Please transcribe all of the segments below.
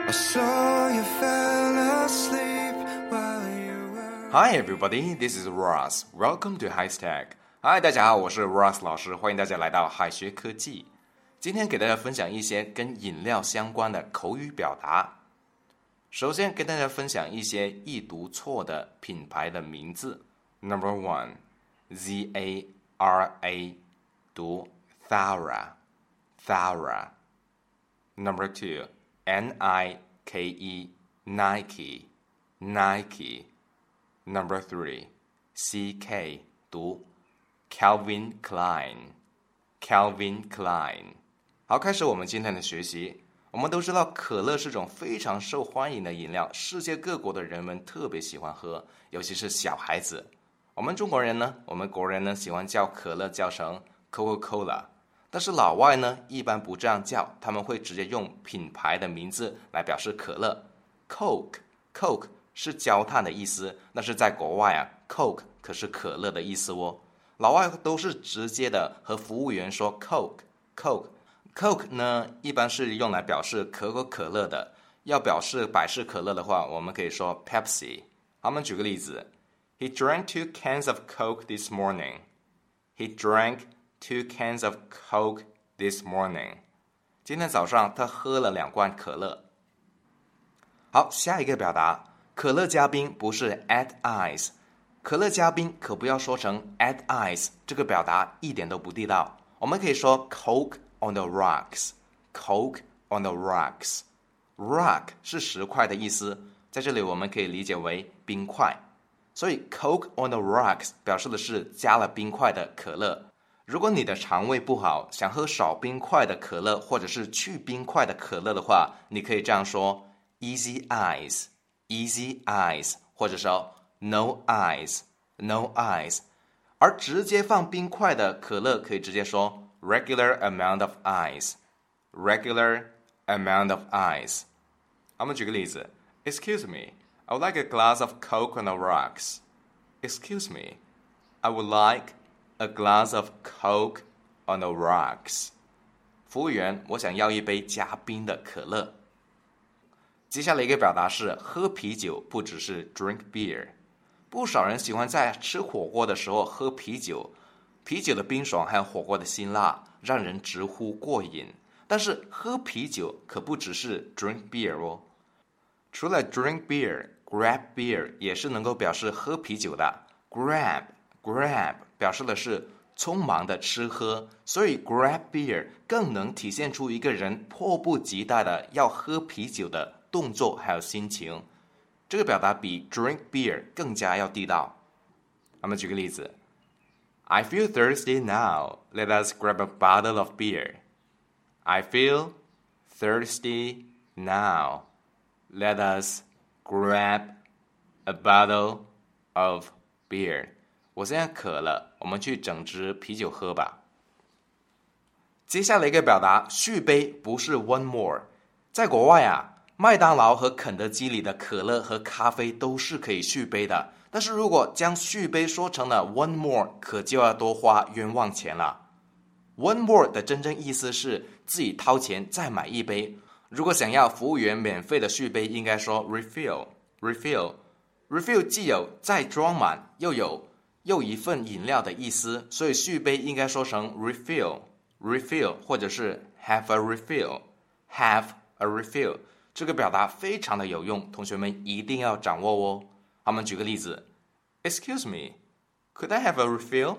I saw you fell asleep while you were... Hi everybody, this is Ross. Welcome to HighStack. Hi， 大家好，我是 Ross 老师，欢迎大家来到海学科技。今天给大家分享一些跟饮料相关的口语表达。首先跟大家分享一些易读错的品牌的名字。Number one, Z-A-R-A 读 Thara. Number two, N-I-K-E Nike. Number three, C-K 读 Calvin Klein. 好，开始我们今天的学习。我们都知道可乐是种非常受欢迎的饮料，世界各国的人们特别喜欢喝，尤其是小孩子。我们国人呢喜欢叫可乐叫成 Coca-Cola， 但是老外呢一般不这样叫，他们会直接用品牌的名字来表示可乐。Coke 是焦炭的意思，但是在国外Coke 可是可乐的意思哦。老外都是直接的和服务员说 Coke 呢一般是用来表示可口可乐的，要表示百事可乐的话，我们可以说 Pepsi。 好，我们举个例子， He drank 2 cans of Coke this morning. He drank 2 cans of Coke this morning. 今天早上他喝了2罐可乐。好，下一个表达，可乐加冰不是 add ice， 可乐加冰可不要说成 add ice， 这个表达一点都不地道，我们可以说 Coke on the rocks. Rock 是石块的意思，在这里我们可以理解为冰块，所以 Coke on the rocks 表示的是加了冰块的可乐。如果你的肠胃不好，想喝少冰块的可乐或者是去冰块的可乐的话，你可以这样说 Easy ice 或者说 No ice。 而直接放冰块的可乐可以直接说Regular amount of ice. 我们举个例子， Excuse me, I would like a glass of Coke on the rocks. Excuse me, I would like a glass of Coke on the rocks. 服务员，我想要一杯加冰的可乐。接下来一个表达是喝啤酒不只是 drink beer。 不少人喜欢在吃火锅的时候喝啤酒，啤酒的冰爽还有火锅的辛辣让人直呼过瘾，但是喝啤酒可不只是 drink beer 哦。除了 drink beer， grab beer 也是能够表示喝啤酒的。 grab 表示的是匆忙的吃喝，所以 grab beer 更能体现出一个人迫不及待的要喝啤酒的动作还有心情，这个表达比 drink beer 更加要地道。我们举个例子， I feel thirsty now. Let us grab a bottle of beer. I feel thirsty now. Let us grab a bottle of beer. 我现在渴了，我们去整支啤酒喝吧。接下来一个表达，续杯不是 one more。 在国外麦当劳和肯德基里的可乐和咖啡都是可以续杯的，但是如果将续杯说成了 one more， 可就要多花冤枉钱了。 one more 的真正意思是自己掏钱再买一杯，如果想要服务员免费的续杯，应该说 refill。 既有再装满又有又一份饮料的意思，所以续杯应该说成 refill 或者是 have a refill。这个表达非常的有用，同学们一定要掌握哦。好，我们举个例子， Excuse me, could I have a refill?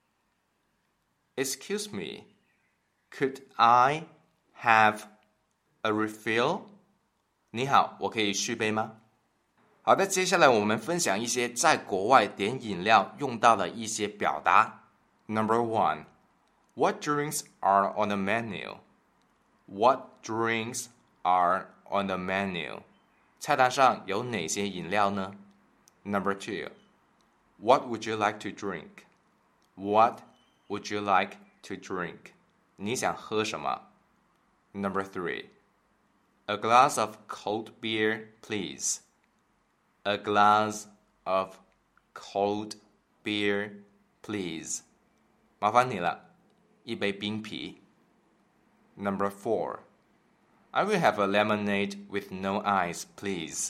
Excuse me, could I have a refill? 你好，我可以续杯吗？好的，接下来我们分享一些在国外点饮料用到的一些表达。 Number one, What drinks are on the menu? What drinks are on the menu? 菜单上有哪些饮料呢？ Number two, What would you like to drink? What would you like to drink? 你想喝什么？ Number three, A glass of cold beer, please. A glass of cold beer, please. 麻烦你了，一杯冰啤。Number 4, I will have a lemonade with no ice, please.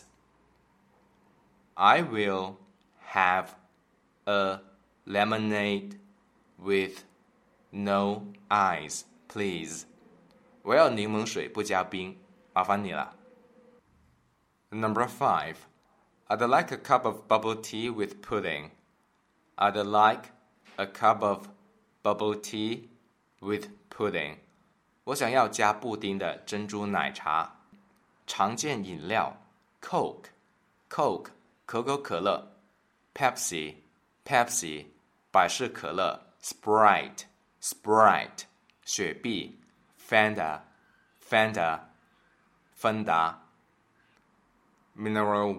I will have a lemonade with no ice, please. 我要柠檬水不加冰，麻烦你了。Number 5. I'd like a cup of bubble tea with pudding. I'd like a cup of bubble tea with pudding. 我想要加布丁的珍珠奶茶。常见饮料 Coke, 可口可乐。Pepsi, 百事可乐。Sprite, 雪碧。Fanta, 芬达。Mineral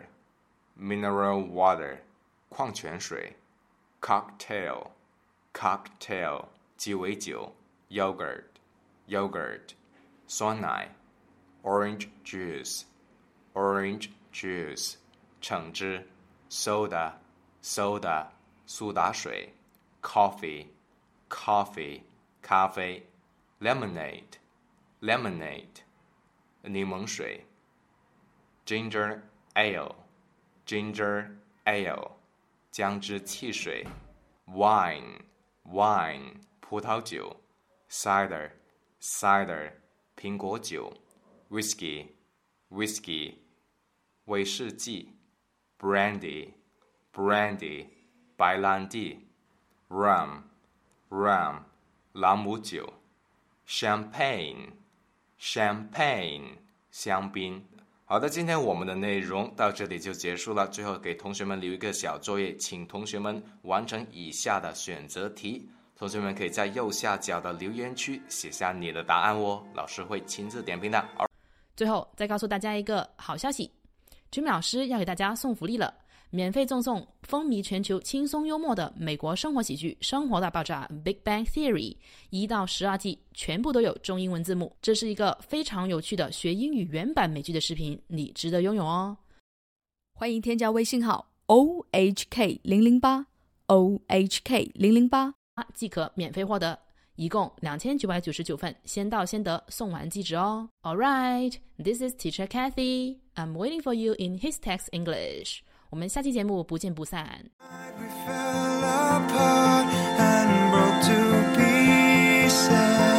water, 矿泉水。Cocktail, 鸡尾酒。Yogurt, 酸奶。Orange juice, 橙汁。Soda, 苏打水。Coffee, 咖啡。Lemonade, 柠檬水。Ginger ale, 姜汁汽水。Wine, 葡萄酒。Cider, 苹果酒。Whiskey, 威士忌。Brandy, 白兰地。Rum, 朗姆酒。Champagne, 香槟。好的，今天我们的内容到这里就结束了。最后给同学们留一个小作业，请同学们完成以下的选择题。同学们可以在右下角的留言区写下你的答案哦，老师会亲自点评的。 最后再告诉大家一个好消息， Jimmy 老师要给大家送福利了，免费赠送风靡全球轻松幽默的美国生活喜剧《生活大爆炸》 Big Bang Theory 1到12季全部都有中英文字幕，这是一个非常有趣的学英语原版美剧的视频，你值得拥有哦。 欢迎添加微信号 OHK008 OHK008 即可免费获得，一共2999份，先到先得，送完即止哦。Alright, this is Teacher Kathy. I'm waiting for you in His Text English. 我们下期节目不见不散。 We fell apart and broke to pieces.